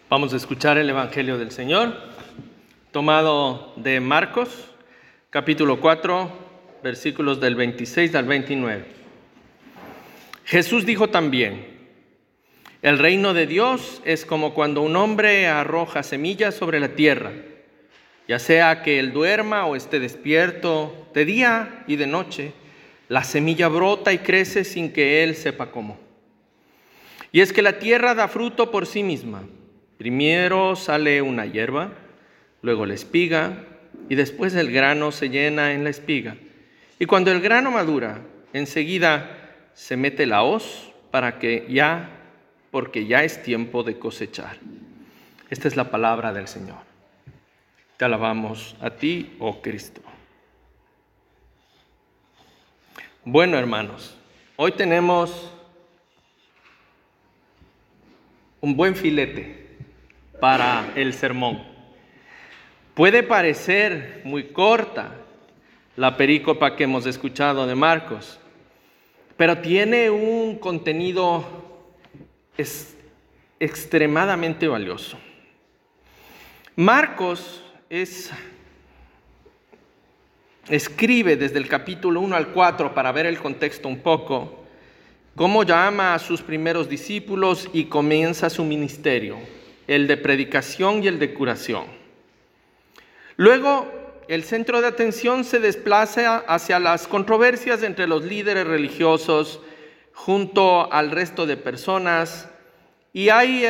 Vamos a escuchar el Evangelio del Señor, tomado de Marcos, capítulo 4, versículos del 26 al 29. Jesús dijo también: el reino de Dios es como cuando un hombre arroja semillas sobre la tierra, ya sea que él duerma o esté despierto, de día y de noche, la semilla brota y crece sin que él sepa cómo. Y es que la tierra da fruto por sí misma. Primero sale una hierba, luego la espiga, y después el grano se llena en la espiga. Y cuando el grano madura, enseguida se mete la hoz porque ya es tiempo de cosechar. Esta es la palabra del Señor. Te alabamos a ti, oh Cristo. Bueno, hermanos, hoy tenemos un buen filete para el sermón. Puede parecer muy corta la perícopa que hemos escuchado de Marcos, pero tiene un contenido extremadamente valioso. Marcos escribe desde el capítulo 1 al 4, para ver el contexto un poco, cómo llama a sus primeros discípulos y comienza su ministerio, el de predicación y el de curación. Luego, el centro de atención se desplaza hacia las controversias entre los líderes religiosos junto al resto de personas, y hay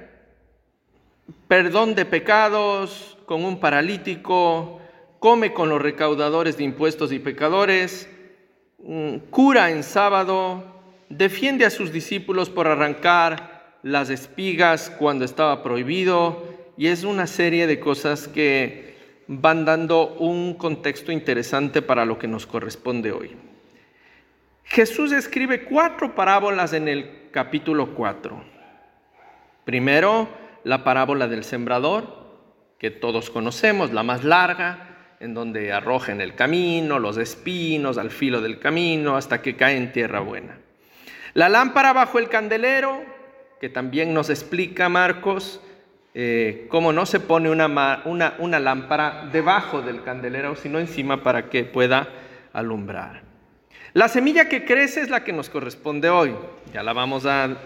perdón de pecados con un paralítico, come con los recaudadores de impuestos y pecadores, cura en sábado, defiende a sus discípulos por arrancar las espigas cuando estaba prohibido, y es una serie de cosas que van dando un contexto interesante para lo que nos corresponde hoy. Jesús escribe 4 parábolas en el capítulo 4. Primero, la parábola del sembrador, que todos conocemos, la más larga, en donde arroja en el camino los espinos al filo del camino hasta que cae en tierra buena. La lámpara bajo el candelero, que también nos explica Marcos, cómo no se pone una lámpara debajo del candelero, sino encima para que pueda alumbrar. La semilla que crece es la que nos corresponde hoy, ya la vamos a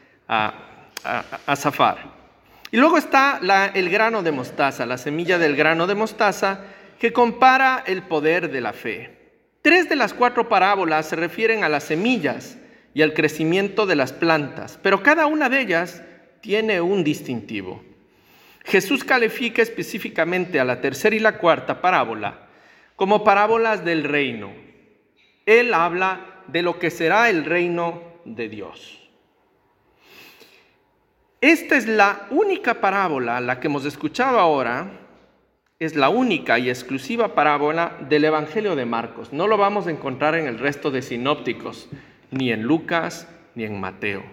zafar. Y luego está el grano de mostaza, la semilla del grano de mostaza, que compara el poder de la fe. 3 de las 4 parábolas se refieren a las semillas y al crecimiento de las plantas, pero cada una de ellas tiene un distintivo. Jesús califica específicamente a la 3ª y la 4ª parábola como parábolas del reino. Él habla de lo que será el reino de Dios. Esta es la única parábola, la que hemos escuchado ahora, es la única y exclusiva parábola del Evangelio de Marcos. No lo vamos a encontrar en el resto de sinópticos, ni en Lucas, ni en Mateo.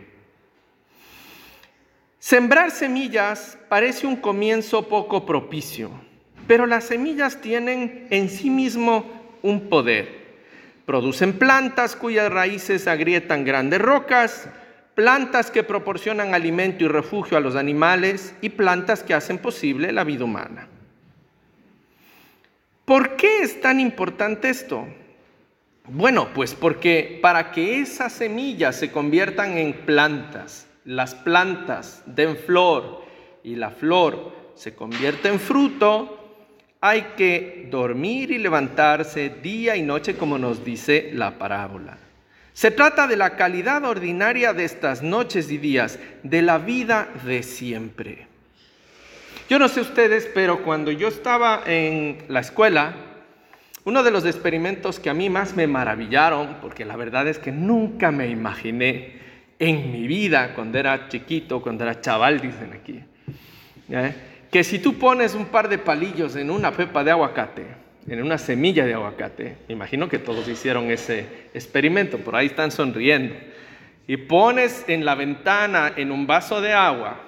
Sembrar semillas parece un comienzo poco propicio, pero las semillas tienen en sí mismo un poder. Producen plantas cuyas raíces agrietan grandes rocas, plantas que proporcionan alimento y refugio a los animales y plantas que hacen posible la vida humana. ¿Por qué es tan importante esto? Bueno, pues porque para que esas semillas se conviertan en plantas, las plantas den flor y la flor se convierte en fruto, hay que dormir y levantarse día y noche, como nos dice la parábola. Se trata de la calidad ordinaria de estas noches y días, de la vida de siempre. Yo no sé ustedes, pero cuando yo estaba en la escuela, uno de los experimentos que a mí más me maravillaron, porque la verdad es que nunca me imaginé en mi vida, cuando era chiquito, cuando era chaval, dicen aquí, que si tú pones un par de palillos en una pepa de aguacate, en una semilla de aguacate, me imagino que todos hicieron ese experimento, por ahí están sonriendo, y pones en la ventana en un vaso de agua,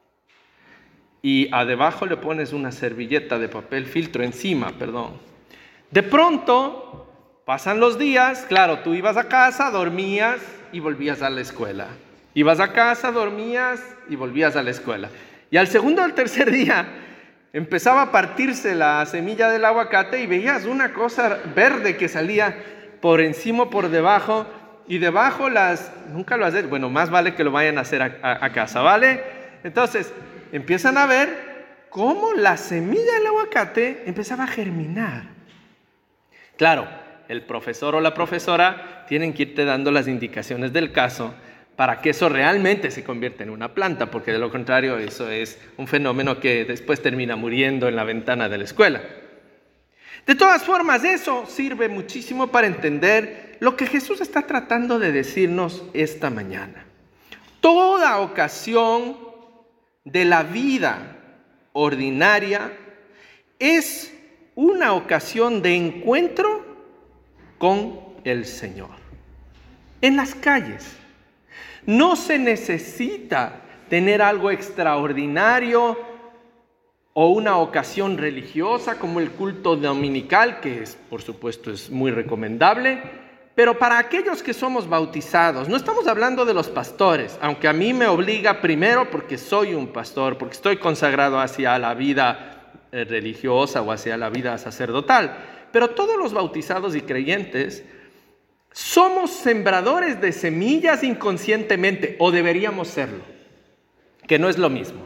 y debajo le pones una servilleta de papel filtro encima, De pronto, pasan los días, claro, tú ibas a casa, dormías y volvías a la escuela. Ibas a casa, dormías y volvías a la escuela. Y al segundo o al tercer día empezaba a partirse la semilla del aguacate y veías una cosa verde que salía por encima o por debajo. Y debajo nunca lo haces, bueno, más vale que lo vayan a hacer a casa, ¿vale? Entonces, empiezan a ver cómo la semilla del aguacate empezaba a germinar. Claro, el profesor o la profesora tienen que irte dando las indicaciones del caso para que eso realmente se convierta en una planta, porque de lo contrario eso es un fenómeno que después termina muriendo en la ventana de la escuela. De todas formas, eso sirve muchísimo para entender lo que Jesús está tratando de decirnos esta mañana. Toda ocasión de la vida ordinaria es una ocasión de encuentro con el Señor. En las calles. No se necesita tener algo extraordinario o una ocasión religiosa como el culto dominical, que por supuesto es muy recomendable, pero para aquellos que somos bautizados, no estamos hablando de los pastores, aunque a mí me obliga primero porque soy un pastor, porque estoy consagrado hacia la vida religiosa o hacia la vida sacerdotal, pero todos los bautizados y creyentes somos sembradores de semillas inconscientemente, o deberíamos serlo, que no es lo mismo.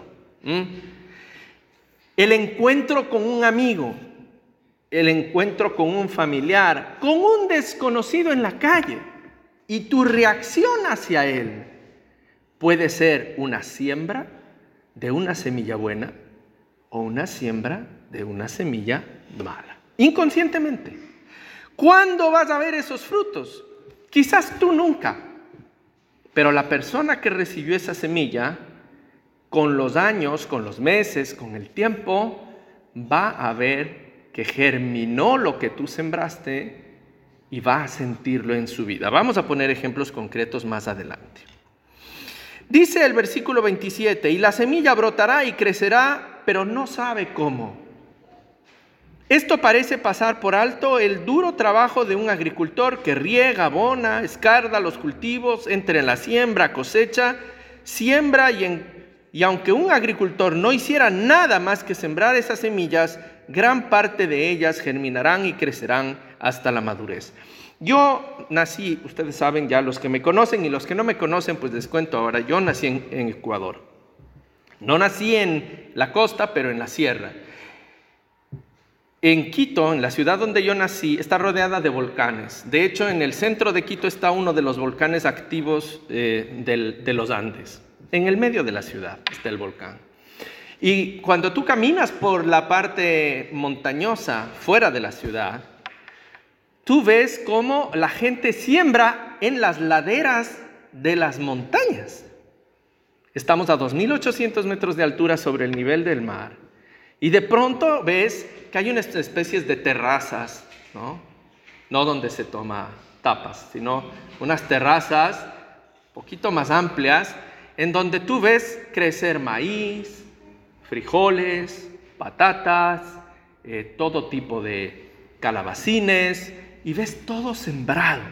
El encuentro con un amigo, el encuentro con un familiar, con un desconocido en la calle, y tu reacción hacia él puede ser una siembra de una semilla buena o una siembra de una semilla mala, inconscientemente. ¿Cuándo vas a ver esos frutos? Quizás tú nunca, pero la persona que recibió esa semilla, con los años, con los meses, con el tiempo, va a ver que germinó lo que tú sembraste y va a sentirlo en su vida. Vamos a poner ejemplos concretos más adelante. Dice el versículo 27, y la semilla brotará y crecerá, pero no sabe cómo. Esto parece pasar por alto el duro trabajo de un agricultor que riega, abona, escarda los cultivos, entre la siembra, cosecha, siembra y aunque un agricultor no hiciera nada más que sembrar esas semillas, gran parte de ellas germinarán y crecerán hasta la madurez. Yo nací, ustedes saben ya, los que me conocen y los que no me conocen, pues les cuento ahora, yo nací en Ecuador. No nací en la costa, pero en la sierra. En Quito, en la ciudad donde yo nací, está rodeada de volcanes. De hecho, en el centro de Quito está uno de los volcanes activos de los Andes. En el medio de la ciudad está el volcán. Y cuando tú caminas por la parte montañosa, fuera de la ciudad, tú ves cómo la gente siembra en las laderas de las montañas. Estamos a 2.800 metros de altura sobre el nivel del mar. Y de pronto ves que hay unas especies de terrazas, no donde se toma tapas, sino unas terrazas un poquito más amplias, en donde tú ves crecer maíz, frijoles, patatas, todo tipo de calabacines, y ves todo sembrado.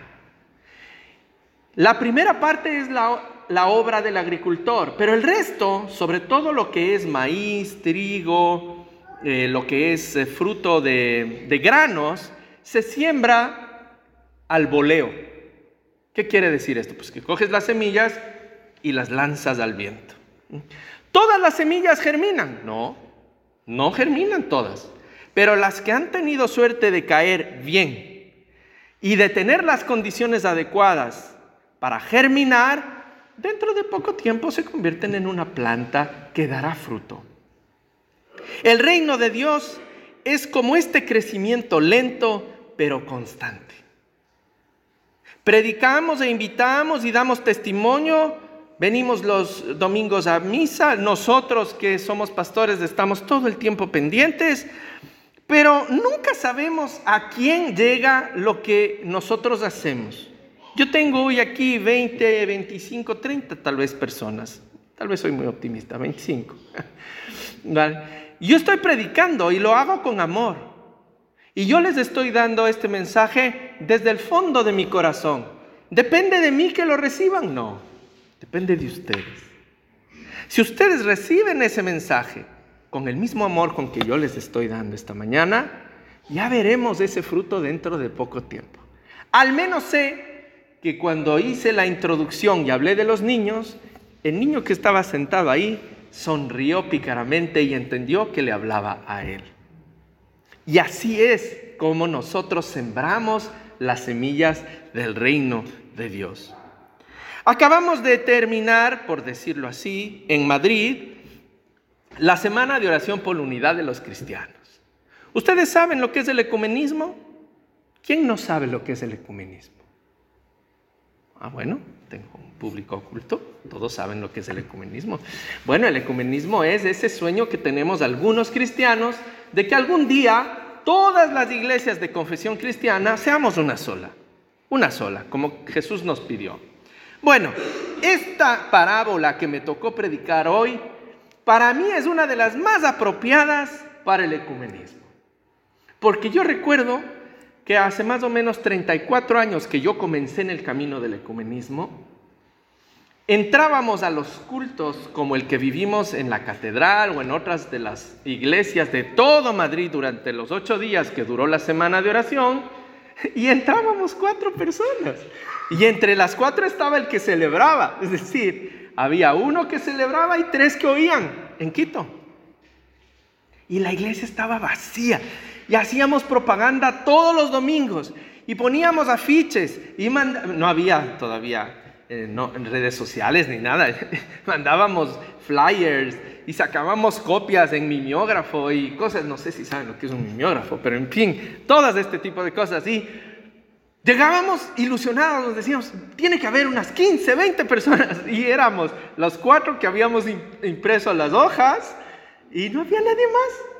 La primera parte es la obra del agricultor, pero el resto, sobre todo lo que es maíz, trigo, lo que es fruto de granos, se siembra al voleo. ¿Qué quiere decir esto? Pues que coges las semillas y las lanzas al viento. ¿Todas las semillas germinan? No germinan todas, pero las que han tenido suerte de caer bien y de tener las condiciones adecuadas para germinar, dentro de poco tiempo se convierten en una planta que dará fruto. El reino de Dios es como este crecimiento lento pero constante. Predicamos e invitamos y damos testimonio, venimos los domingos a misa, nosotros que somos pastores estamos todo el tiempo pendientes, pero nunca sabemos a quién llega lo que nosotros hacemos. Yo tengo hoy aquí 20, 25, 30 tal vez personas, tal vez soy muy optimista, 25. ¿Vale? Yo estoy predicando y lo hago con amor. Y yo les estoy dando este mensaje desde el fondo de mi corazón. ¿Depende de mí que lo reciban? No, depende de ustedes. Si ustedes reciben ese mensaje con el mismo amor con que yo les estoy dando esta mañana, ya veremos ese fruto dentro de poco tiempo. Al menos sé que cuando hice la introducción y hablé de los niños, el niño que estaba sentado ahí sonrió pícaramente y entendió que le hablaba a él. Y así es como nosotros sembramos las semillas del reino de Dios. Acabamos de terminar, por decirlo así, en Madrid, la semana de oración por la unidad de los cristianos. ¿Ustedes saben lo que es el ecumenismo? ¿Quién no sabe lo que es el ecumenismo? Bueno, tengo un público oculto, todos saben lo que es el ecumenismo. Bueno, el ecumenismo es ese sueño que tenemos algunos cristianos de que algún día todas las iglesias de confesión cristiana seamos una sola, como Jesús nos pidió. Bueno, esta parábola que me tocó predicar hoy, para mí es una de las más apropiadas para el ecumenismo. Porque yo recuerdo que hace más o menos 34 años que yo comencé en el camino del ecumenismo, entrábamos a los cultos como el que vivimos en la catedral o en otras de las iglesias de todo Madrid durante los 8 días que duró la semana de oración, y entrábamos 4 personas. Y entre las 4 estaba el que celebraba, es decir, había uno que celebraba y 3 que oían en Quito. Y la iglesia estaba vacía. Y hacíamos propaganda todos los domingos. Y poníamos afiches. Y no había todavía redes sociales ni nada. Mandábamos flyers y sacábamos copias en mimeógrafo y cosas. No sé si saben lo que es un mimeógrafo, pero en fin, todas este tipo de cosas. Y llegábamos ilusionados, nos decíamos, tiene que haber unas 15, 20 personas. Y éramos los 4 que habíamos impreso las hojas y no había nadie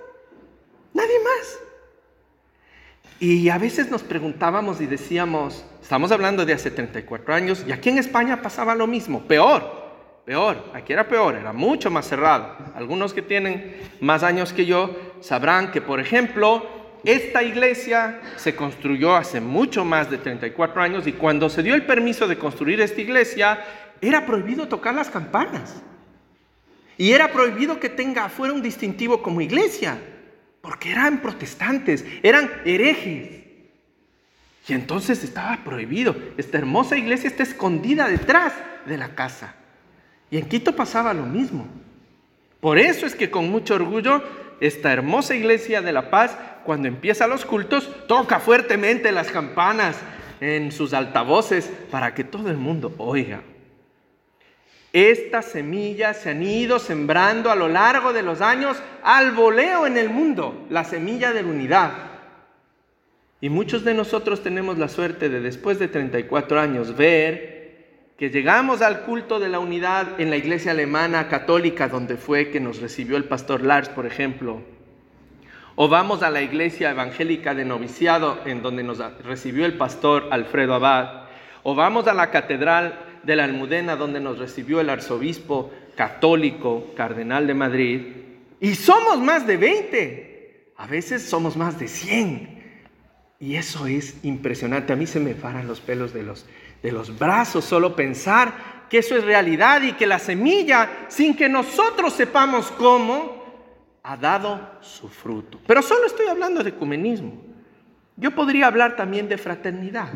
más. Y a veces nos preguntábamos y decíamos, estamos hablando de hace 34 años, y aquí en España pasaba lo mismo, peor, aquí era peor, era mucho más cerrado. Algunos que tienen más años que yo sabrán que, por ejemplo, esta iglesia se construyó hace mucho más de 34 años y cuando se dio el permiso de construir esta iglesia, era prohibido tocar las campanas. Y era prohibido que fuera un distintivo como iglesia, porque eran protestantes, eran herejes. Y entonces estaba prohibido. Esta hermosa iglesia está escondida detrás de la casa. Y en Quito pasaba lo mismo. Por eso es que con mucho orgullo, esta hermosa iglesia de La Paz, cuando empieza los cultos, toca fuertemente las campanas en sus altavoces para que todo el mundo oiga. Estas semillas se han ido sembrando a lo largo de los años al voleo en el mundo, la semilla de la unidad. Y muchos de nosotros tenemos la suerte de, después de 34 años, ver que llegamos al culto de la unidad en la iglesia alemana católica, donde fue que nos recibió el pastor Lars, por ejemplo. O vamos a la iglesia evangélica de noviciado, en donde nos recibió el pastor Alfredo Abad. O vamos a la catedral de la Almudena, donde nos recibió el arzobispo católico, cardenal de Madrid, y somos más de 20, a veces somos más de 100, y eso es impresionante. A mí se me paran los pelos de los brazos solo pensar que eso es realidad y que la semilla, sin que nosotros sepamos cómo, ha dado su fruto. Pero solo estoy hablando de ecumenismo. Yo podría hablar también de fraternidad.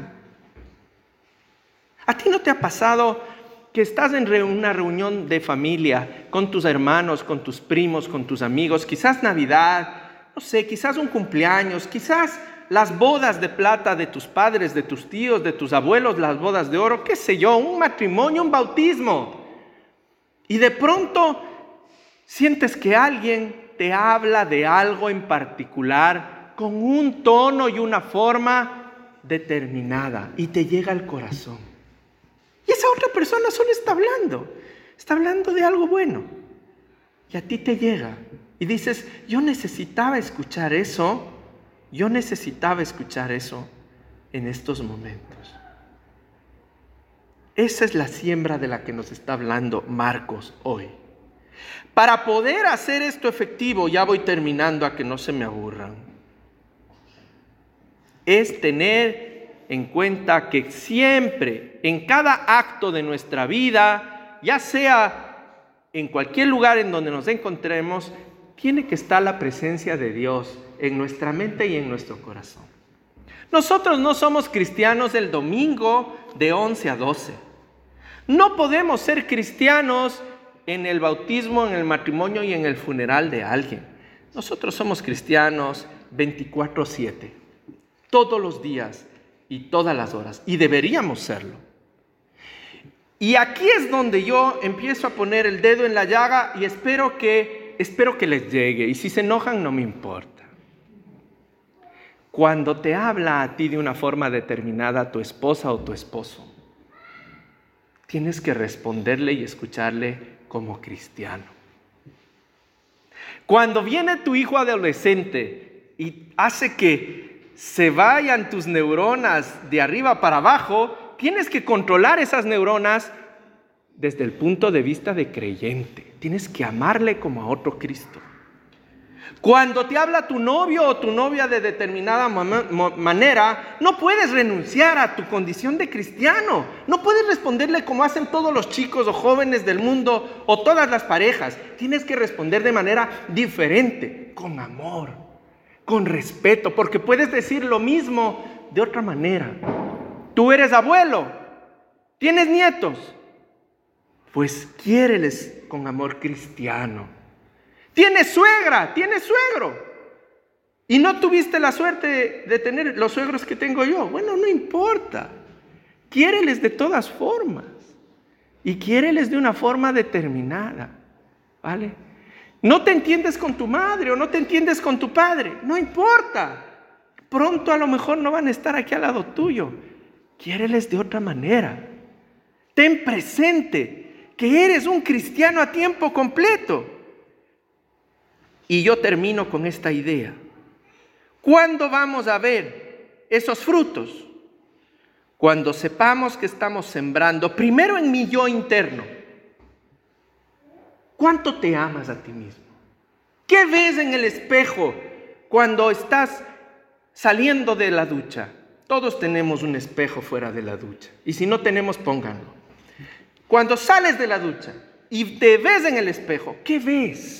¿A ti no te ha pasado que estás en una reunión de familia con tus hermanos, con tus primos, con tus amigos, quizás Navidad, no sé, quizás un cumpleaños, quizás las bodas de plata de tus padres, de tus tíos, de tus abuelos, las bodas de oro, qué sé yo, un matrimonio, un bautismo? Y de pronto sientes que alguien te habla de algo en particular con un tono y una forma determinada y te llega al corazón. Y esa otra persona solo está hablando de algo bueno. Y a ti te llega y dices, yo necesitaba escuchar eso en estos momentos. Esa es la siembra de la que nos está hablando Marcos hoy. Para poder hacer esto efectivo, ya voy terminando a que no se me aburran, es tener en cuenta que siempre, en cada acto de nuestra vida, ya sea en cualquier lugar en donde nos encontremos, tiene que estar la presencia de Dios en nuestra mente y en nuestro corazón. Nosotros no somos cristianos el domingo de 11 a 12. No podemos ser cristianos en el bautismo, en el matrimonio y en el funeral de alguien. Nosotros somos cristianos 24/7, todos los días y todas las horas, y deberíamos serlo. Y aquí es donde yo empiezo a poner el dedo en la llaga y espero que les llegue, y si se enojan no me importa. Cuando te habla a ti de una forma determinada tu esposa o tu esposo, tienes que responderle y escucharle como cristiano. Cuando viene tu hijo adolescente y hace que se vayan tus neuronas de arriba para abajo, tienes que controlar esas neuronas desde el punto de vista de creyente. Tienes que amarle como a otro Cristo. Cuando te habla tu novio o tu novia de determinada manera, no puedes renunciar a tu condición de cristiano. No puedes responderle como hacen todos los chicos o jóvenes del mundo o todas las parejas. Tienes que responder de manera diferente, con amor, con respeto, porque puedes decir lo mismo de otra manera. Tú eres abuelo, tienes nietos, pues quiéreles con amor cristiano. Tienes suegra, tienes suegro, y no tuviste la suerte de tener los suegros que tengo yo. Bueno, no importa. Quiéreles de todas formas, y quiéreles de una forma determinada, ¿vale? No te entiendes con tu madre o no te entiendes con tu padre, no importa. Pronto a lo mejor no van a estar aquí al lado tuyo. Quiéreles de otra manera. Ten presente que eres un cristiano a tiempo completo. Y yo termino con esta idea. ¿Cuándo vamos a ver esos frutos? Cuando sepamos que estamos sembrando, primero en mi yo interno. ¿Cuánto te amas a ti mismo? ¿Qué ves en el espejo cuando estás saliendo de la ducha? Todos tenemos un espejo fuera de la ducha. Y si no tenemos, pónganlo. Cuando sales de la ducha y te ves en el espejo, ¿qué ves?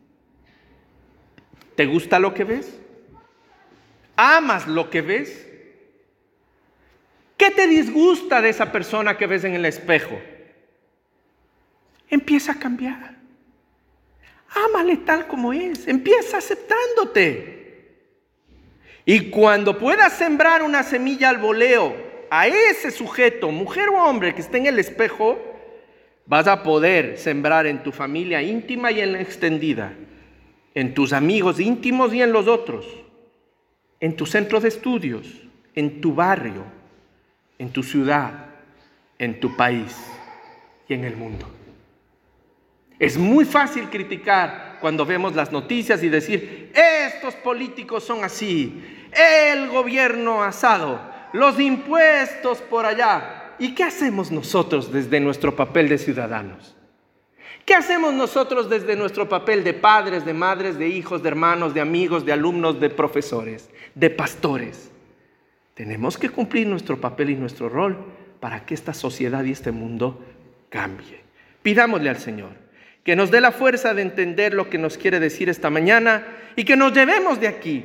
¿Te gusta lo que ves? ¿Amas lo que ves? ¿Qué te disgusta de esa persona que ves en el espejo? Empieza a cambiar. Ámale tal como es. Empieza aceptándote. Y cuando puedas sembrar una semilla al voleo a ese sujeto, mujer o hombre que esté en el espejo, vas a poder sembrar en tu familia íntima y en la extendida, en tus amigos íntimos y en los otros, en tu centro de estudios, en tu barrio, en tu ciudad, en tu país y en el mundo. Es muy fácil criticar cuando vemos las noticias y decir, estos políticos son así, el gobierno asado, los impuestos por allá. ¿Y qué hacemos nosotros desde nuestro papel de ciudadanos? ¿Qué hacemos nosotros desde nuestro papel de padres, de madres, de hijos, de hermanos, de amigos, de alumnos, de profesores, de pastores? Tenemos que cumplir nuestro papel y nuestro rol para que esta sociedad y este mundo cambie. Pidámosle al Señor que nos dé la fuerza de entender lo que nos quiere decir esta mañana y que nos llevemos de aquí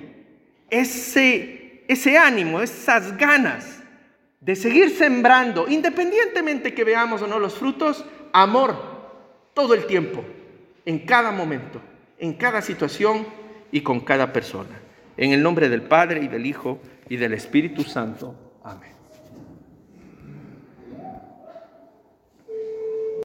ese ánimo, esas ganas de seguir sembrando, independientemente que veamos o no los frutos, amor todo el tiempo, en cada momento, en cada situación y con cada persona. En el nombre del Padre y del Hijo y del Espíritu Santo. Amén.